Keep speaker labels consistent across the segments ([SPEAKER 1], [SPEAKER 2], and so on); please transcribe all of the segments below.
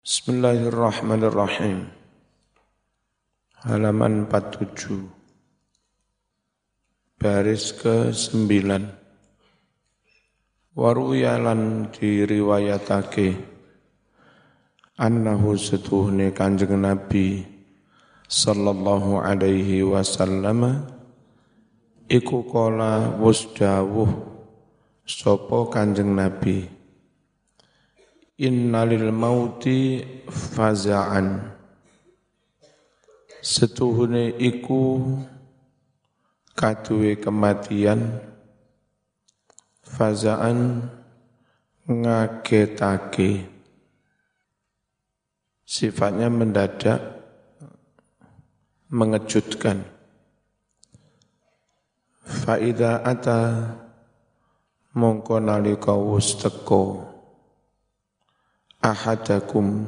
[SPEAKER 1] Bismillahirrahmanirrahim. Halaman 47. Baris ke-9. Waruyalan diriwayatake annahu setuhne Kanjeng Nabi sallallahu alaihi wasallam iku kala wus dawuh sapa Kanjeng Nabi, innalil mauti faza'an, setuhune iku kaduwe kematian, faza'an ngagetake, sifatnya mendadak, mengejutkan. Fa'idha ata mongko nalika wus teko ahadakum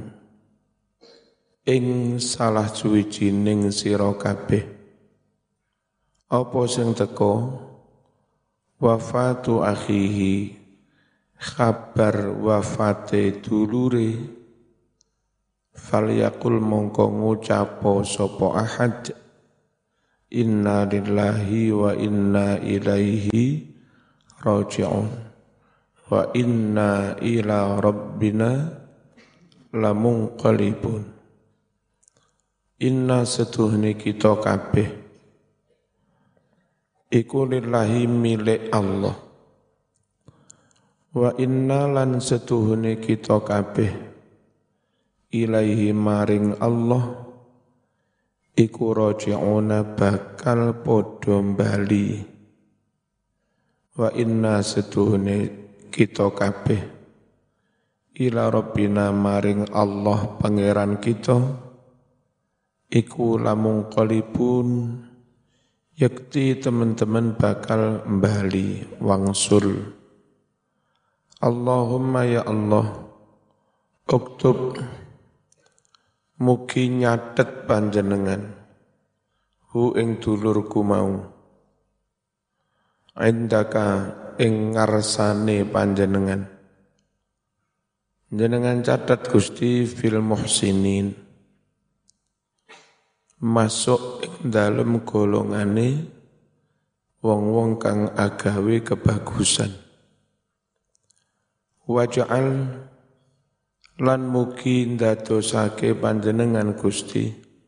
[SPEAKER 1] ing salah suwijining sira kabeh, apa sing teko wafatu akhihi, kabar wafate dulure, falyakul mongko ngucapo sapa ahad, inna lillahi wa inna ilaihi raji'un wa inna ila rabbina lamunqalibun. Inna setuhni kita kabeh iku lillahi milik Allah, wa inna lan setuhni kita kabeh ilaihi maring Allah iku raji'una bakal podo bali. Wa inna setuhni kita kabeh ila rabbina maring Allah pangeran kita iku lamun qalibun, yakti teman-teman bakal bali wangsul. Allahumma ya Allah, uktub mugi nyatet panjenengan hu ing dulurku mau, indaka ing ngarsane panjenengan, jenengan catat Gusti fil muhsinin, masuk ing dalem golongane wong-wong kang agawe kebagusan. Waj'al lan mugi ndadosake panjenengan Gusti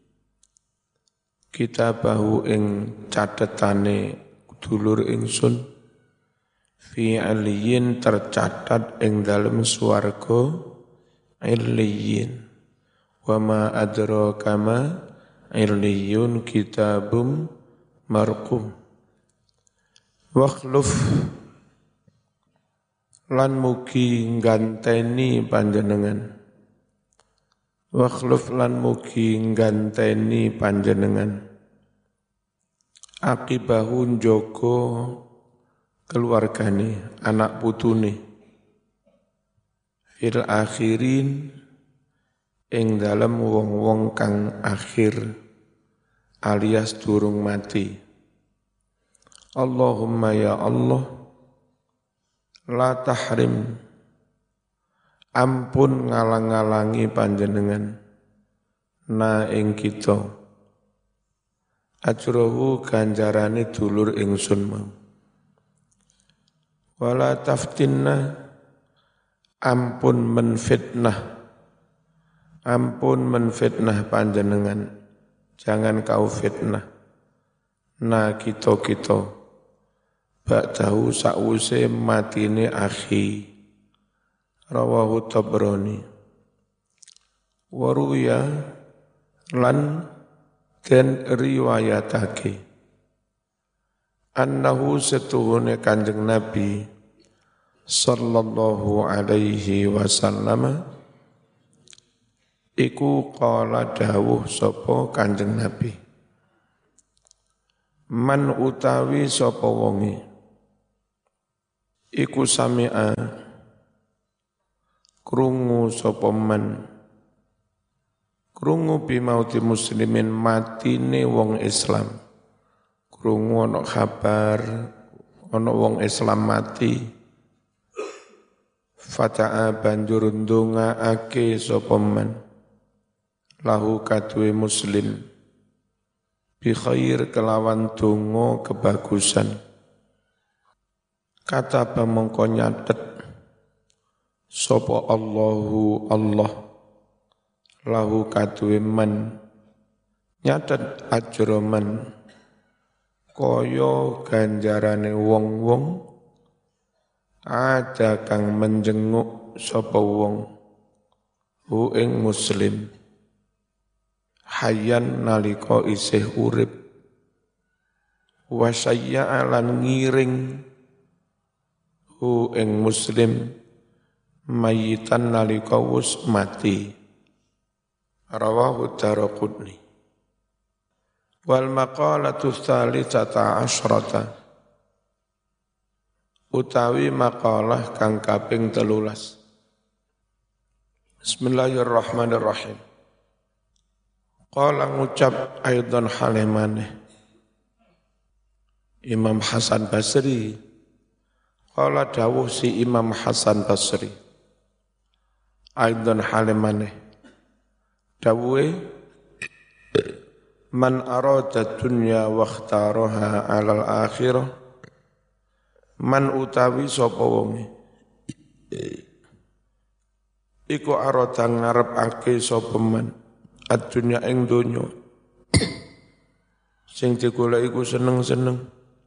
[SPEAKER 1] kitabahu ing catetane dulur ingsun fi aliyin tercatat ing dalem swarga illiyin, wa ma adraka ma illiyun kitabum marqum. Wakhluf lan mugi ngganteni panjenengan, wakhluf lan mugi ngganteni panjenengan akibahun joko keluargane, anak putune, fil akhirin ing dalem wong-wong kang akhir alias durung mati. Allahumma ya Allah, la tahrim, ampun ngalang-alangi panjenengan na ing kita ajrohu ganjarane dulur ingsun mau. Wala taftinna, ampun menfitnah panjenengan, jangan kau fitnah na kita ba'dahu sa'use matine akhi. Rawahu Tabrani. Waruya lan den riwayatake annahu setuhune Kanjeng Nabi sallallahu alaihi wasallam iku qala dawuh sapa Kanjeng Nabi, man utawi sapa wonge iku sami'a krungu sapa man, krungu bimauti muslimin matine wong Islam, krungu ana kabar ana wong Islam mati, Fata'a banjur ndongaake sapa man lahu kadue Muslim bi khair kelawan donga kebagusan. Kata mongko nyatet sapa Allahu Allah lahu kadue man nyatet ajra man kaya ganjarane wong-wong ada kang menjenguk sapa wong hu ing Muslim hayyan nalika isih urip wa sayya lan ngiring hu ing Muslim mayitan nalika wis mati. Rawahu Daraqutni. Wal maqalatu tsalitsata asyrata utawi makalah kang kaping 13. Bismillahirrahmanirrahim. Qala ngucap aidan halimane Imam Hasan Basri. Qala dawuh si Imam Hasan Basri. Aidan halimane dawuhe man arada dunya wa ikhtaraha 'alal akhirah man utawi sapa wonge iku arada ngarepake sapa man ad-dunya ing donya sing digolek iku seneng-seneng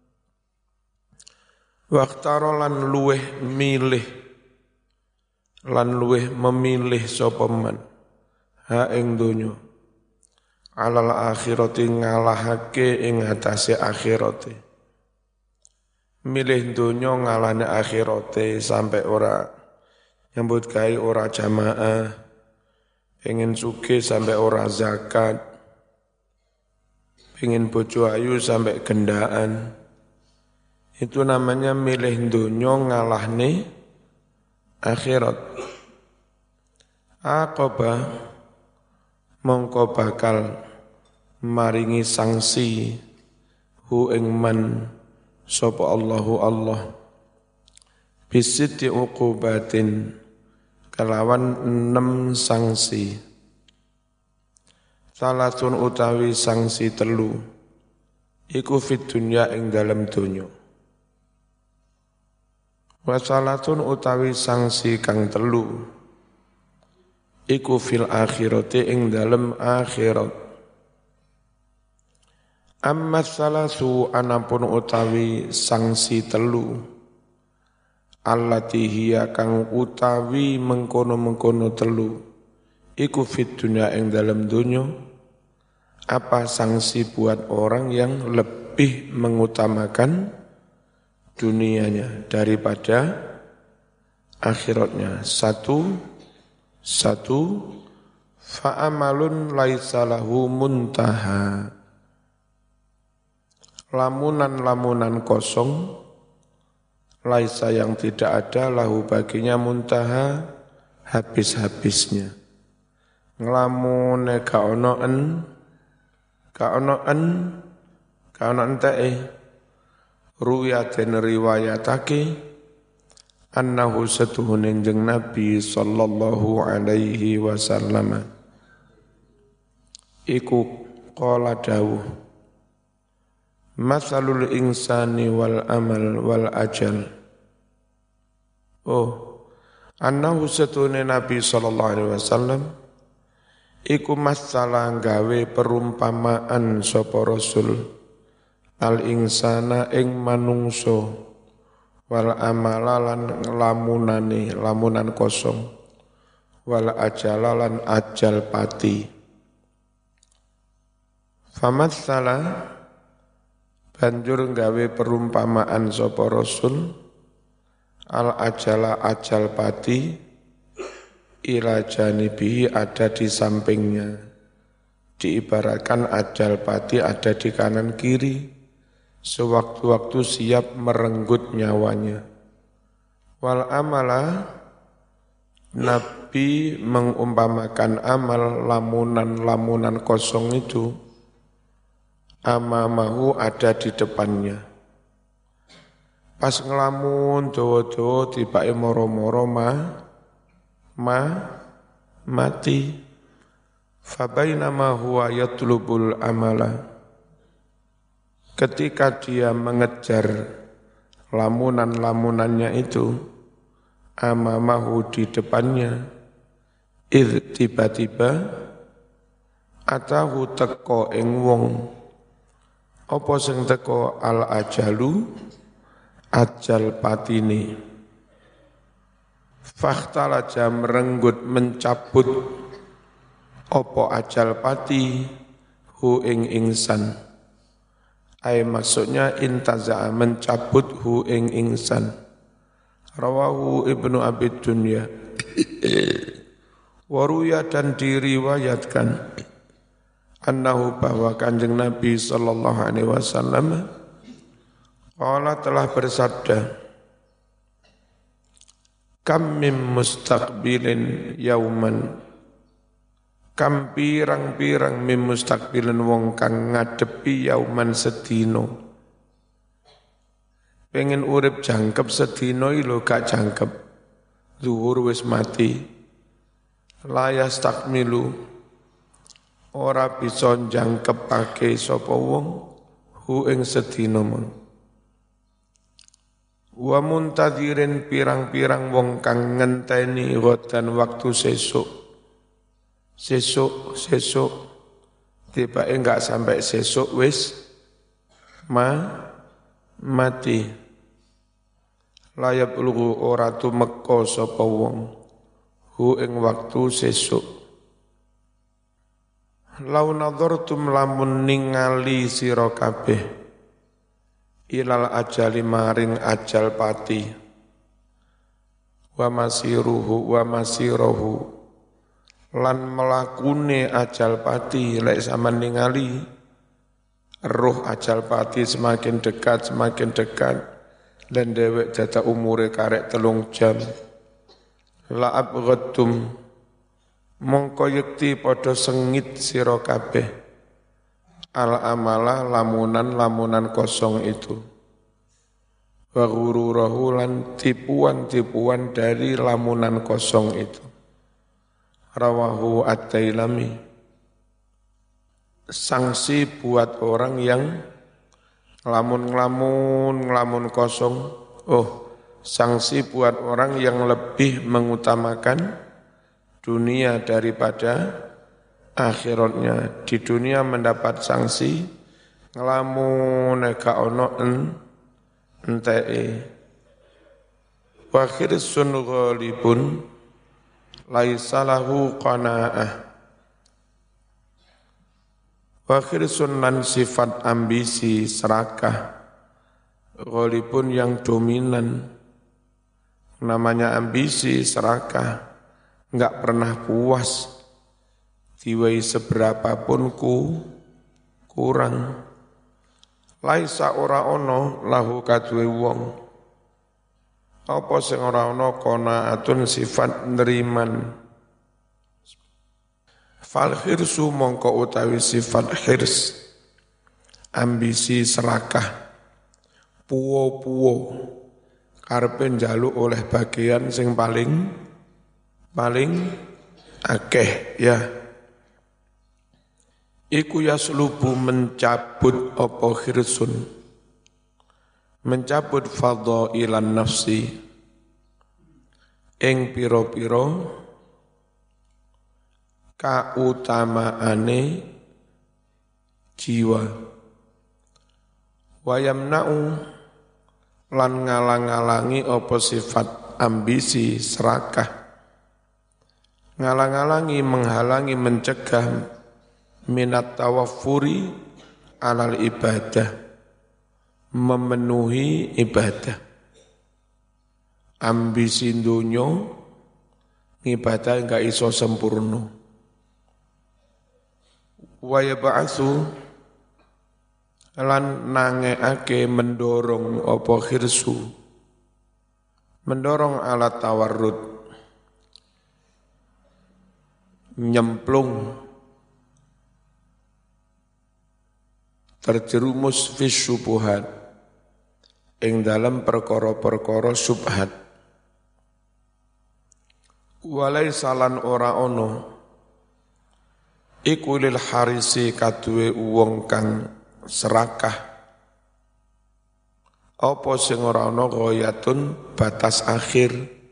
[SPEAKER 1] waqtara lan luweh milih lan luweh memilih sapa man ha ing donya alal akhirati ngalahake ing atase akhirate milih donya ngalahne akhirate sampai ora nyambut gawe ora jamaah pengen sugih sampai ora zakat pengen bojo ayu sampai gendaan itu namanya milih donya ngalahne akhirat. Aqaba mongko bakal maringi sanksi hu ing man sapa Allahu Allah bisiti uqubatin kelawan 6 sanksi. Salatun utawi sanksi telu iku fid dunya ing dalem donya. Wasalatun utawi sanksi kang telu iku fil akhirati ing dalem akhirat. Amma salasu anapun utawi sanksi telu allati hiya kang utawi mengkono-mengkono telu iku fit dunya ing dalem donya. Apa sanksi buat orang yang lebih mengutamakan dunianya daripada akhiratnya? Satu fa'amalun laisa lahu muntaha, lamunan kosong laisa yang tidak ada lahu baginya muntaha habis-habisnya. Nglamune ka ono entae ruyaten riwayatake annahu satuhune jeung Nabi sallallahu alaihi wasallam iku qala dawuh masalul insani wal amal wal ajal. Annahu satuhune Nabi sallallahu alaihi wasallam iku masalah gawe perumpamaan sapa Rasul al insana ing manungso wal amalalan lamunan kosong wal ajalalan ajal pati. Famatsala banjur gawe perumpamaan sapa Rasul al ajala ajal pati ila janibihi ada di sampingnya, diibaratkan ajal pati ada di kanan kiri sewaktu-waktu siap merenggut nyawanya. Wal amala Nabi mengumpamakan amal lamunan kosong itu amamahu ada di depannya. Pas ngelamun dawa-dawa tibake moro-moro mati. Fabainama huwa yatlubul amala. Ketika dia mengejar lamunan-lamunannya itu, amamahu di depannya, tiba-tiba atahu teko ing wong, apa sing teko al ajalu, ajal patine. Fakhtalaja merenggut mencabut opo ajal pati hu ing ingsan. Ay maksudnya intaza mencabut hu ing ingsan. Rawahu Ibnu Abi Dunya. Waruya dan diriwayatkan annahu bahwa Kanjeng Nabi sallallahu alaihi wasallam qala telah bersabda, kam mim mustaqbilin yauman, kam pirang-pirang mim mustaqbilin wong kang ngadepi yauman sedino. Pengen urip jangkep sedino ilo gak jangkep, zuhur wis mati. Layas takmilu, ora bisa jangkepake sapa wong hu ing sedino mon. Wa muntadirin pirang-pirang wong kang ngenteni godan waktu sesuk tiba enggak sampai sesuk wis mati. Layab lugu ora tumeka sapa wong hu ing waktu sesuk. Lau nadhartum lamun ningali sira kabeh ilal ajali maring ajal pati wa masiruhu lan melakune ajal pati. Lek sampean ningali roh ajal pati semakin dekat dan dewek data umure karek 3 jam. La abghadtum mongko yekti padha sengit sira kabeh al amala lamunan kosong itu, wa ghururahu lan tipuan dari lamunan kosong itu. Rawahu at-Tailami. Sanksi buat orang yang ngelamun kosong. Sanksi buat orang yang lebih mengutamakan dunia daripada akhiratnya. Di dunia mendapat sanksi ngelamun gak ono enteke. Wa khirsun ghalibun laisa lahu qanaah. Wa khirsun lan sifat ambisi serakah ghalibun yang dominan. Namanya ambisi serakah, enggak pernah puas. Diwai seberapapun kurang. Laisa ora ono lahu kadwe wong. Apa sing ora ono qanaatun sifat neriman. Fal khirsu mongko utawi sifat khirs, ambisi serakah, puwo-puwo, karepe njaluk oleh bagian sing paling akeh ya. Iku yaslubu mencabut apa khirsun, mencabut fadhailan nafsi ing pira-pira kautamaane jiwa. Wayamna'u lan ngalang-alangi apa sifat ambisi serakah, ngalang-alangi, menghalangi, mencegah minat tawaffuri alal ibadah, memenuhi ibadah. Ambisi dunya ibadah enggak iso sempurna. Wa yab'atsu lan nangeake mendorong apa khirsu, mendorong alat tawarrud, nyemplung, terjerumus fis syubuhat ing dalam perkara-perkara subhat. Walai salan ora ono iku lil harisi kaduwe wong kang serakah apa sing ora ana ghayatun batas akhir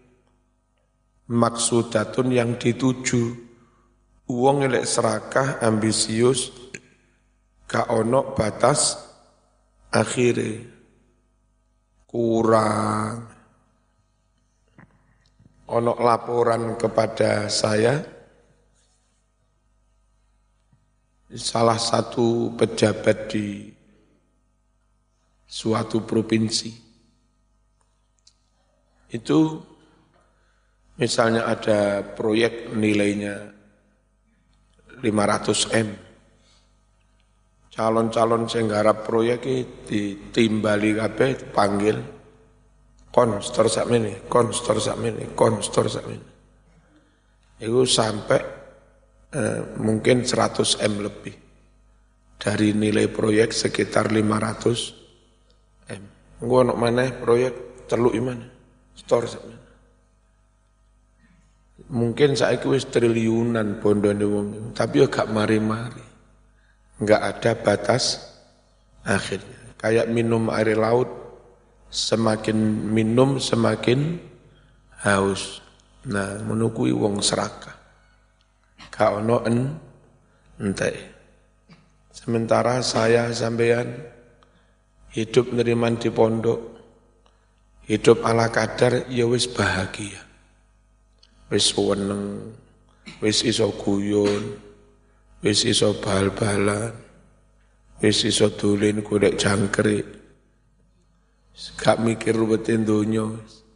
[SPEAKER 1] maksudatun yang dituju. Wong elek serakah ambisius gak ono batas akhire kurang. Ono laporan kepada saya salah satu pejabat di suatu provinsi itu misalnya ada proyek nilainya 500 M. Calon-calon sing garap proyek iki ditimbali kabeh dipanggil konstor sakmene, konstor sakmene, konstor sakmene. Iku sampai mungkin 100 M lebih dari nilai proyek sekitar 500 M. Engko ono maneh proyek teluk imane, stor sakmene. Mungkin saiki wis triliunan bondone wong, tapi yo gak mari-mari. Enggak ada batas akhirnya. Kayak minum air laut, semakin minum semakin haus. Nah, menukui wong serakah. Gak ono entek. Sementara saya sampean hidup neriman di pondok, hidup ala kadar ya wis bahagia. Wis weneng, wis iso guyon, wis iso bal-balan, wis iso dolen golek jangkrik. Gak mikir ruwetin donya.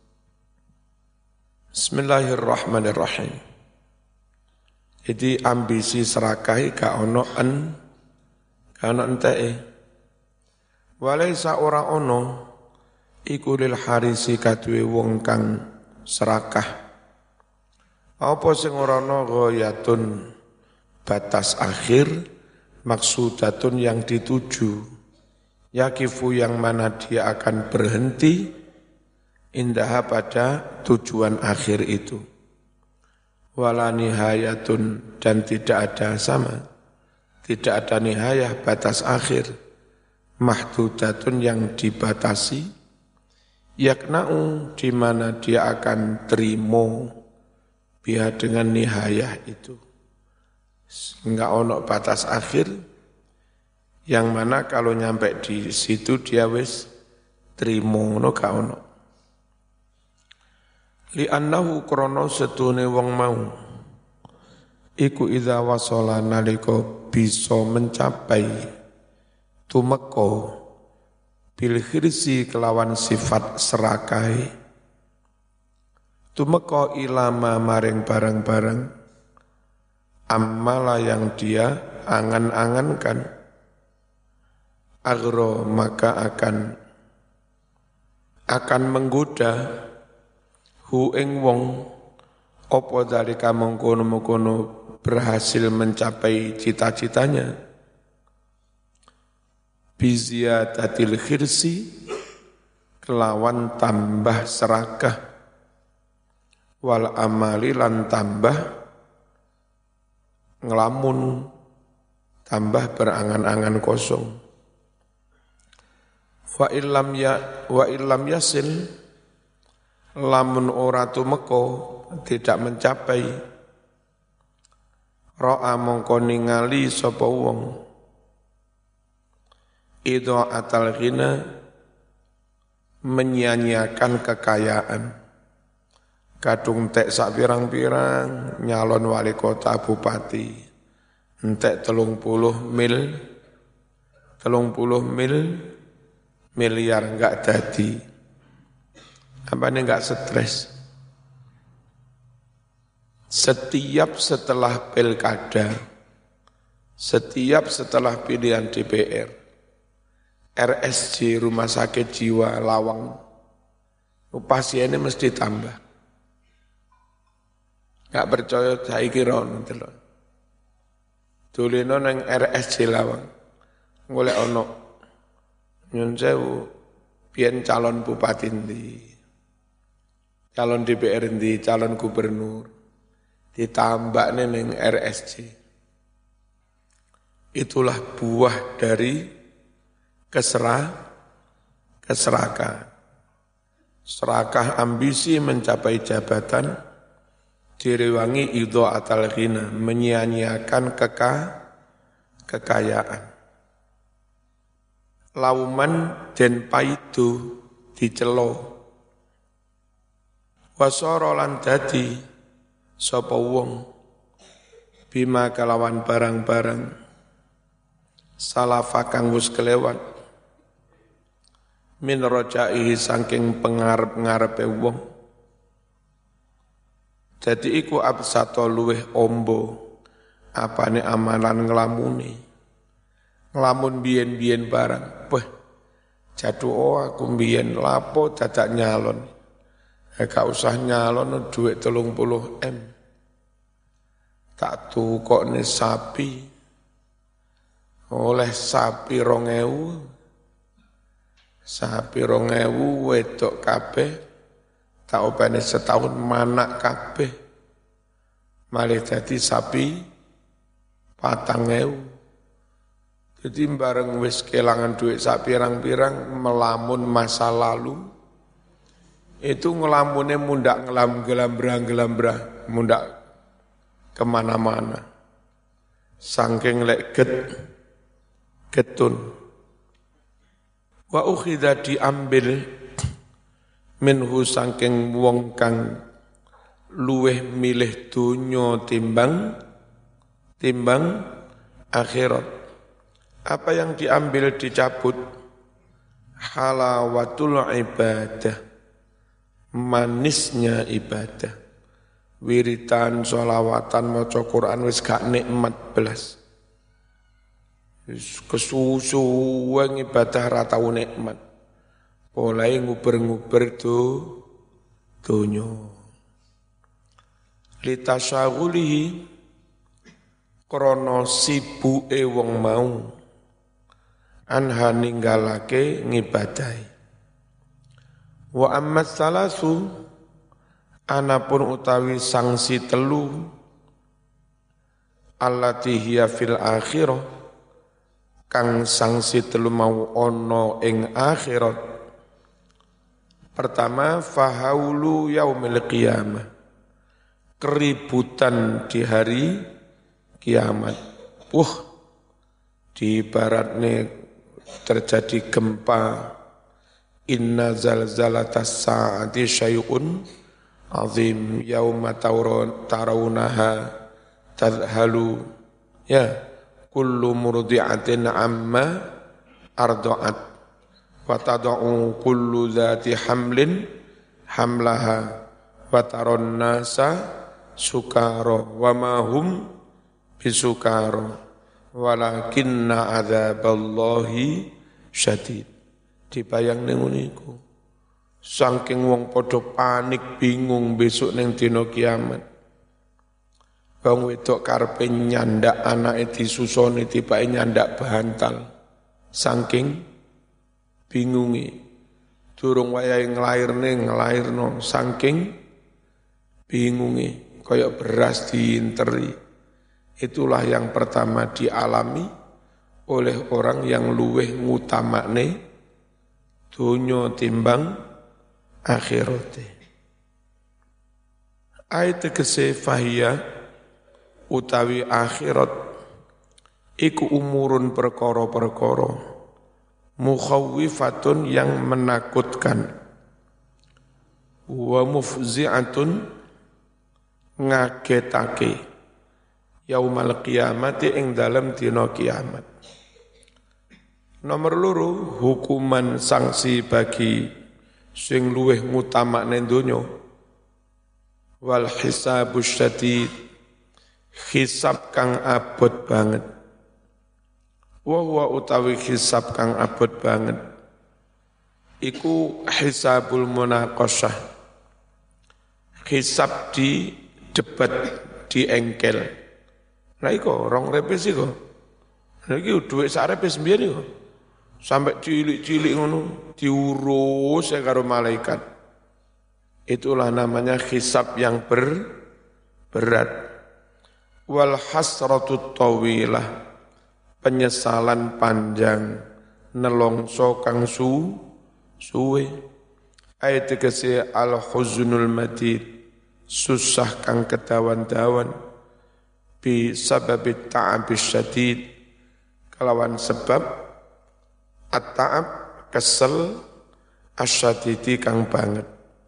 [SPEAKER 1] Bismillahirrahmanirrahim. Jadi ambisi serakah gak ono enteke. Walaisa ora ono iku lil harisi kaduwe wong kang serakah. Apa sing ora ana ghayatun batas akhir maksudatun yang dituju yakifu yang mana dia akan berhenti indah pada tujuan akhir itu wala nihayatun dan tidak ada tidak ada nihayah batas akhir mahdudatun yang dibatasi yakna'u di mana dia akan terima biar dengan nihayah itu. Enggak ono batas akhir, yang mana kalau nyampe di situ dia wis trimo no gak ono. Li annahu krono setune wong mau iku idza wasala nalika bisa mencapai tumeka bil khirsi kelawan sifat serakai tumeka ilama maring barang-barang amala yang dia angan-angankan agro maka akan menggoda hu ing wong apa dalika mengkono-mengkono berhasil mencapai cita-citanya biziyadatil khirsi kelawan tambah serakah wal amali lan tambah ngelamun, tambah berangan-angan kosong. Wa illam yasil lamun ora tumeka tidak mencapai ra'a mongko ningali sapa wong idha'atal ghina menyia-nyiakan kekayaan. Kadung tek sak pirang-pirang nyalon wali kota bupati. Entek 30 miliar enggak jadi. Apane enggak stres. Setiap setelah pilkada, setiap setelah pilihan DPR, RSJ Rumah Sakit Jiwa Lawang, pasiennya mesti tambah. Gak percaya saiki ron delok. Doleno nang RSJ Lawang. Golek ono nyun sewu biyen calon bupati ndi, calon DPR ndi, calon gubernur, ditambakne ning RSC. Itulah buah dari keserakahan. Serakah ambisi mencapai jabatan, direwangi idha'atal ghina, menyia-nyiakan kekayaan. Lauman den paidu dicelo. Wasara lan dadi sapa wong bima kalawan barang-barang salafa kang wis kelewat min rajaihi saking pengarep-ngarepe wong. Jadi iku absato luweh ombo apane amalan nglamun biyen-biyen barang. Wah, jatuh aku biyen lapo dadak nyalon. Gak usah nyalon duit 30 M. Tak tukokne sapi. Oleh sapi 2000. Sapi 2000 wedok kabeh. Tak opene setahun manak kabeh. Malih dadi sapi 4000. Jadi bareng wis kelangan duit sak pirang-pirang melamun masa lalu. Itu ngelamunnya mundak gelambrah, mundak kemana-mana. Saking lek getun. Wa ukhidha diambil minhu saking wong kang luweh milih dunya timbang akhirat. Apa yang diambil dicabut? Halawatul ibadah, manisnya ibadah. Wiritan, sholawatan, maca Quran wis gak nikmat belas. Kesusuan ibadah ra tau nikmat. Mulai nguber-nguber donya. Litasyagulihi krana sibuke wong mau anha ninggalake ngibadahi. Wa ammat salasu anapun utawi sanksi telu allati hiya fil akhirah kang sanksi telu mau ana ing akhirat. Pertama, fahaulu yaumil qiyamah, keributan di hari kiamat. Di baratnya terjadi gempa. Inna zalzalatas sa'ati syai'un azim yauma tarawunaha tadhalu kullu murdi'atin amma arda'at wa tada'u kullu dhati hamlin hamlaha wa taron nasa sukara wa ma hum bisukara walakinna adzaballahi syadid. Dibayang ning niku. Saking wong padha panik bingung besok ning dina kiamat. Wong wedok karepe nyandak anake disusoni tibake nyandak bantal. Saking bingungi. Durung wayahe nglairno saking bingungi kaya beras diinteri. Itulah yang pertama dialami oleh orang yang luweh ngutamakne dunya timbang akhirate. Ayat tegese fahiyah utawi akhirat iku umurun perkara-perkara mukhawwifatun yang menakutkan wa mufzi'atun ngagetake yaumal qiyamati ing dalem dina kiamat. Nomor loro, hukuman sanksi bagi sing luweh ngutamakne donya. Wal hisabus syadid, hisab kang abot banget. Wa huwa utawi hisab kang abot banget. Iku hisabul munaqasyah. Hisab di debat, di engkel. Nah iku rong repes iku. Nah iki dhuwit sak repes mbiyen iku. sampai cilik-cilik ngono diurus ya karo malaikat. Itulah namanya hisab yang berat. Wal hasratut tawilah, penyesalan panjang, nelongso kang suwe. Ayat tegese al huznul madid, susah kang kedawan-dawan, bi sababit ta'abis syadid, kelawan sebab at-ta'ab kesel, asyadidi kang banget.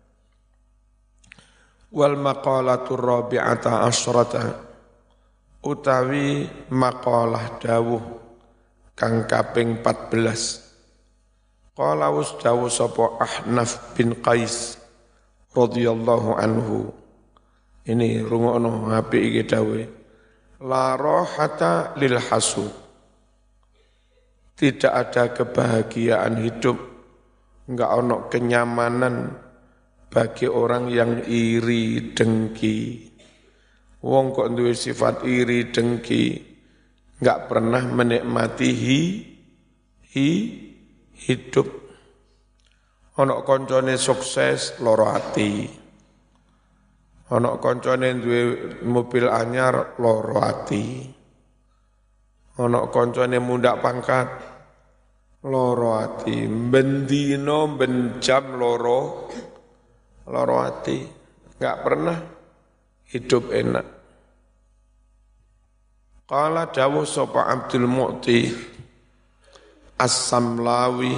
[SPEAKER 1] Wal maqalatur rabi'ata asyrata, utawi maqalah dawuh kang kaping 14. Qala was dawuh sapa Ahnaf bin Qais radhiyallahu anhu. Ini rungokno apik iki dawuhe. La rahata lil hasud. Tidak ada kebahagiaan hidup, enggak ono kenyamanan bagi orang yang iri dengki. Wong kok duwe sifat iri dengki, enggak pernah menikmati hidup. Ono koncone sukses loro ati. Ono koncone duwe mobil anyar loro ati. Ono koncone mundak pangkat loro ati. Bendino benjam loro ati. Enggak pernah hidup enak. Qala dawuh sapa Abdul Mu'ti As-Samlawi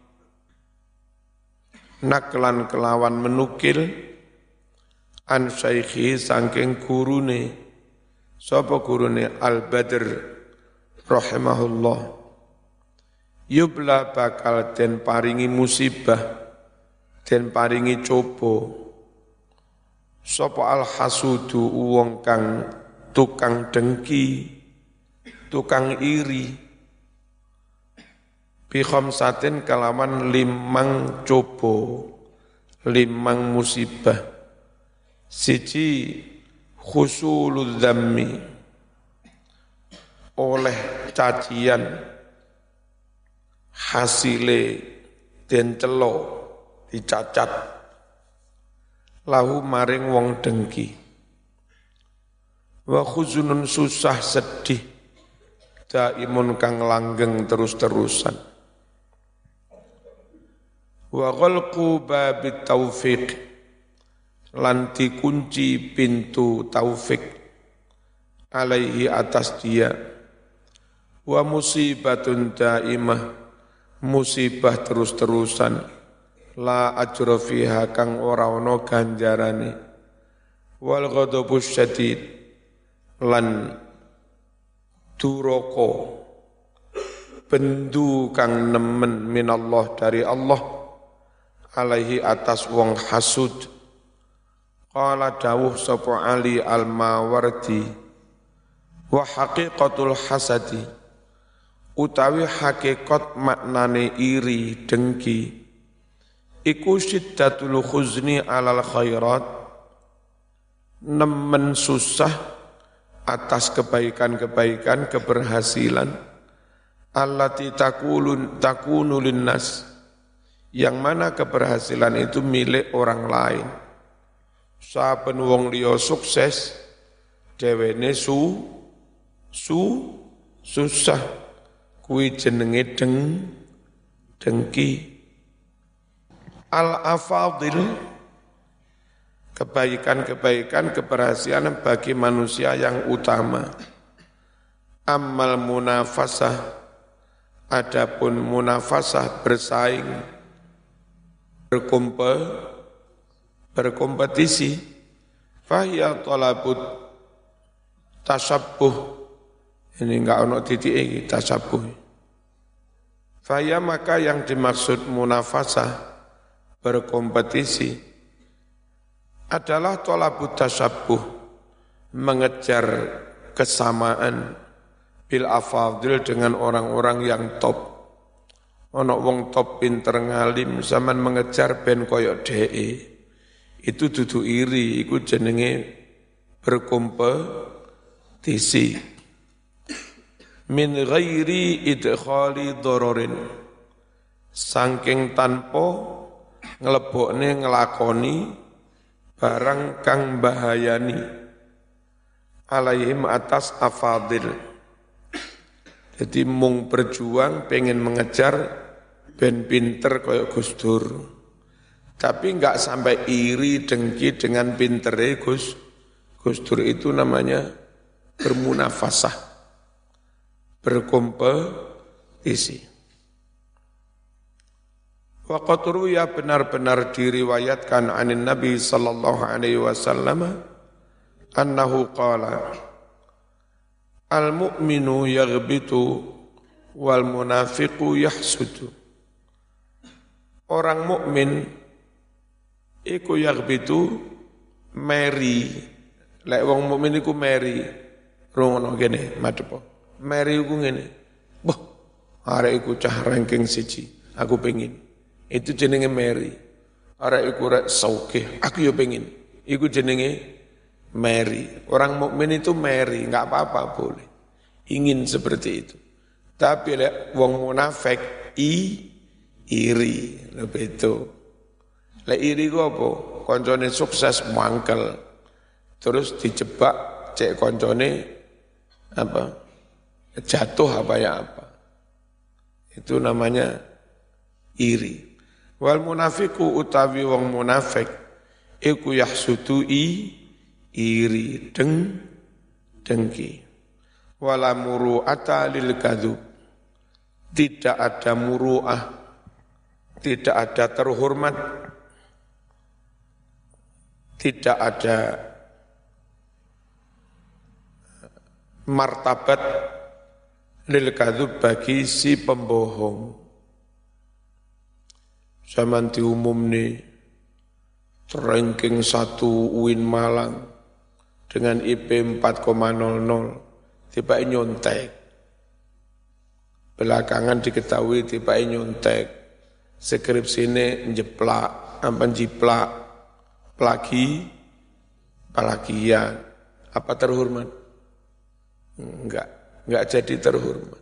[SPEAKER 1] naklan kelawan menukil an syaikhi saking gurune, sapa gurune Al-Badr rahimahullah, yubla bakal den paringi musibah, den paringi coba sapa al-hasudu wong kang tukang dengki, tukang iri, bi khamsatin kalawan 5 coba, 5 musibah. Siji khusulul dzammi, oleh cacian hasile den celo dicacat lahu maring wong dengki. Wa khuzunun susah sedih daimun kang langgeng terus-terusan. Wa ghalqu babit taufiq, lan dikunci pintu taufik alaihi atas dia. Wa musibatun daimah, musibah terus-terusan, la ajra fiha kang ora ana ganjarane. Wal ghadabus syadid, lan duraka bendu kang nemen minallah dari Allah alaihi atas wong hasud. Qala dawuh sapa Ali Al-Mawardi, wa haqiqatul hasadi, utawi hakikat maknane iri dengki, iku syiddatul khuzni alal khairat, nemen susah atas kebaikan-kebaikan, keberhasilan, allati takunu linnas, yang mana keberhasilan itu milik orang lain. Saben wong liya sukses, dhewene susah, kuwi jenenge dengki. Al-afadil, kebaikan-kebaikan, keberhasilan bagi manusia yang utama. Ammal munafasah, adapun munafasah bersaing, berkompetisi, fahiya talabut tasabbuh, ini enggak ono titik ini tasabbuh. Fahiya, maka yang dimaksud munafasah, berkompetisi, adalah talabut tasabbuh, mengejar kesamaan bil afadil dengan orang-orang yang top. Ono wong top pinter ngalim zaman mengejar ben koyok DE. Itu dudu iri, iku jenenge berkompetisi. Min ghairi idkhali dararin, saking tanpa nglebokne nglakoni barang kang bahayani alaihim atas afadil. Jadi mung berjuang pengen mengejar ben pinter koyok Gus Dur. Tapi enggak sampai iri dengki dengan pintere Gus Dur, itu namanya bermunafasah, berkompetisi. Wa qad ruya benar-benar diriwayatkan anin Nabi sallallahu alaihi wasallam annahu qala al-mu'minu yaghbitu wal munafiqu yahsudu. Orang mukmin iku yaghbitu meri. Lek wong mukmin iku meri. Rungono kene madhepo. Meri iku ngene. Boh, arek iku cah ranking 1. Aku pengin. Itu jenenge meri. Arek iku rek sauke. Aku yo pengin. Iku jenenge meri. Orang mukmin itu meri, enggak apa-apa boleh. Ingin seperti itu. Tapi lek wong munafik iri, lebih itu. Lek iri ku apa? Koncone sukses mangkel. Terus dijebak cek koncone apa? Jatuh apa ya apa. Itu namanya iri. Wal munafiku utawi wong munafik iku yahsudu iri dengki. Wala muru'ata lil kadzub. Tidak ada muru'ah, tidak ada terhormat, tidak ada martabat lil kadzub bagi si pembohong. Zaman diumumni ranking 1 UIN Malang dengan IP 4,00 tiba nyontek. Belakangan diketahui tiba nyontek. Skripsine njeplak, jiplak, plagian. Apa terhormat? Enggak jadi terhormat.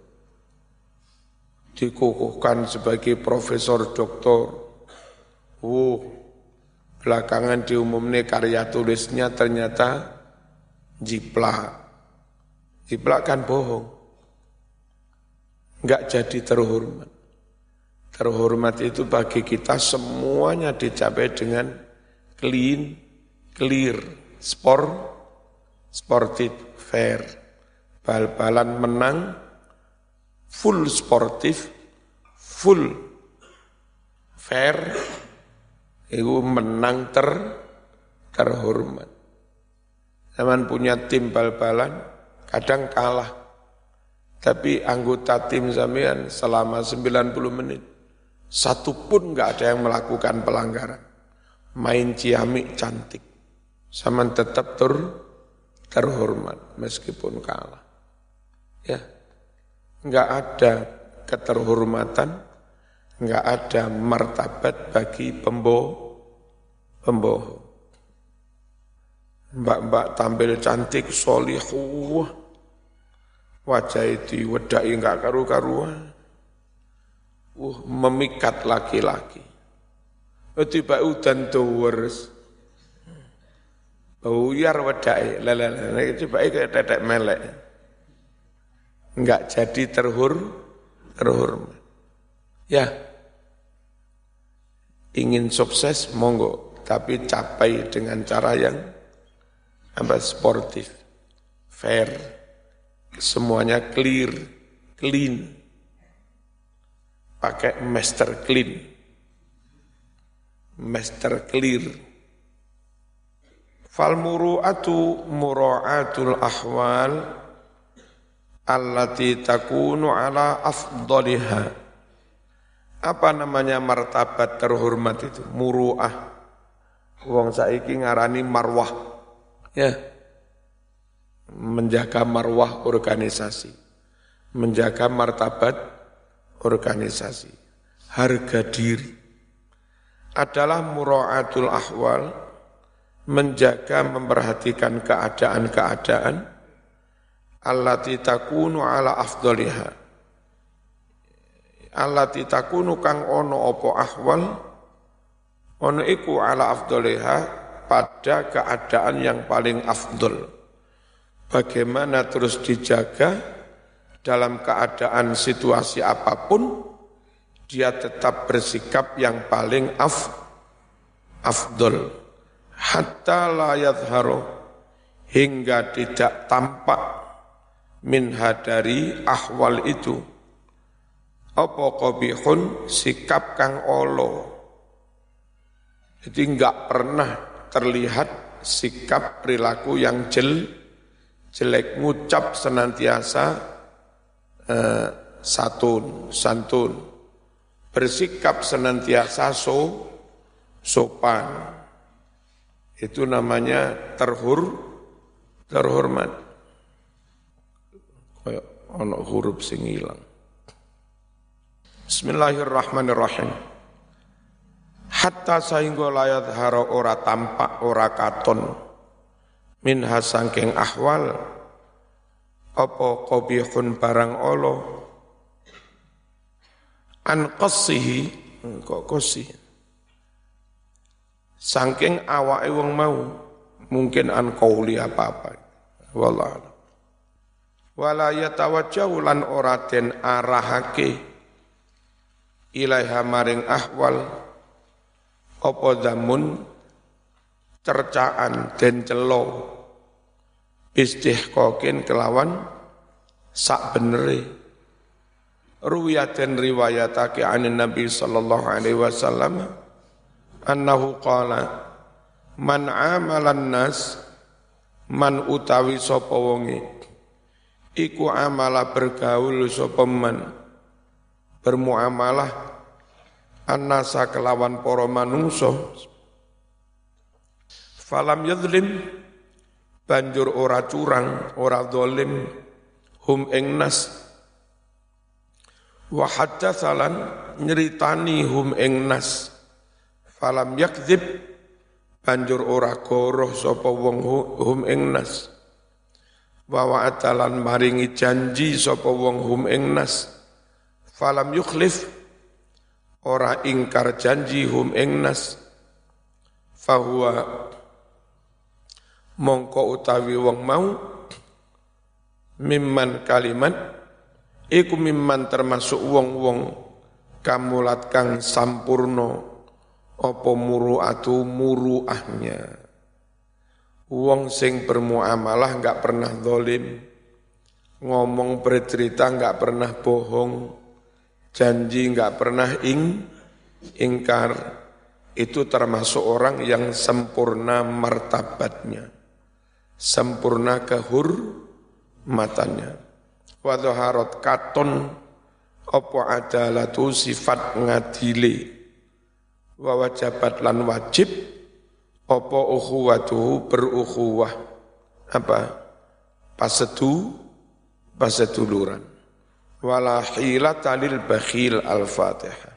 [SPEAKER 1] Dikukuhkan sebagai profesor doktor. Belakangan diumumnya karya tulisnya ternyata jiplak. Jiplak kan bohong. Enggak jadi terhormat. Terhormat itu bagi kita semuanya dicapai dengan clear, sportif, fair. Bal-balan menang, full sportif, full fair, itu menang terhormat. Zaman punya tim bal-balan, kadang kalah. Tapi anggota tim sampean selama 90 menit, satu pun enggak ada yang melakukan pelanggaran. Main ciamik cantik. Sama tetap terhormat meskipun kalah. Ya, enggak ada keterhormatan, enggak ada martabat bagi pembohong. Mbak-mbak tampil cantik, solihah, wajah itu wedai enggak karu-karuan. Memikat laki-laki. Tiba udan tuwers. Buyar wedai, tiba kayak tetek melek. Enggak jadi terhormat. Ya, ingin sukses monggo, tapi capai dengan cara yang sportif, fair, semuanya clean, pakai master clear. Fal muru'atu mura'atul ahwal allati takunu ala afdaliha. Apa namanya martabat terhormat itu? Muru'ah. Wong saiki ngarani marwah. Ya. Menjaga marwah organisasi. Menjaga martabat organisasi. Harga diri. Adalah mura'atul ahwal. Menjaga, memperhatikan keadaan-keadaan allati takunu ala afdaliha, allati takunu kang ono apa ahwal ono iku ala afdoliha pada keadaan yang paling afdol. Bagaimana terus dijaga dalam keadaan situasi apapun, dia tetap bersikap yang paling afdol. Hatta la yadhharu, hingga tidak tampak minha dari ahwal itu apa qabihun, sikap kang olo. Jadi enggak pernah terlihat sikap perilaku yang jelek, ngucap senantiasa santun, bersikap senantiasa sopan. Itu namanya terhormat. Kayak ana huruf sing ilang. Bismillahirrahmanirrahim. Hatta sehingga layat haro ora tampak ora katon minha sangking ahwal apa qabihun barang olo an qassihi kok qasih sangking awake wong mau mungkin an qauli apa-apa wallah wala yatawajjahu lan ora den arahake ilaiha maring ahwal apa zamun cercaan den celo istihqaqin kelawan sak benere ruwiyat den riwayatake anin Nabi sallallahu alaihi wasallam annahu qala man amalan nas man utawi sapa wonge iku amala bergaul sapa man bermuamalah annasa kelawan para manungsa falam yadlim banjur ora curang ora zalim hum ing nas wa haddatsalan nyeritani hum ing nas falam yakdzib banjur ora goroh sapa wong hum ing nas wa wa'atalan maringi janji sapa wong hum ing nas falam yukhlif ora ingkar janji hum ing nas fahuwa mongko utawi wong mau mimman kalimat iku mimman termasuk wong-wong kamulat kang sampurno apa muru'atu muru'ahnya wong sing bermuamalah enggak pernah zalim ngomong bercerita enggak pernah bohong janji enggak pernah ingkar itu termasuk orang yang sempurna martabatnya sempurna kehormatannya wa dhaharat katon apa adalatu sifat ngadili wa wajabat lan wajib apa ukhuwatuhu berukhuwah apa paseduluran wala hilata lil bakhil al-fatihah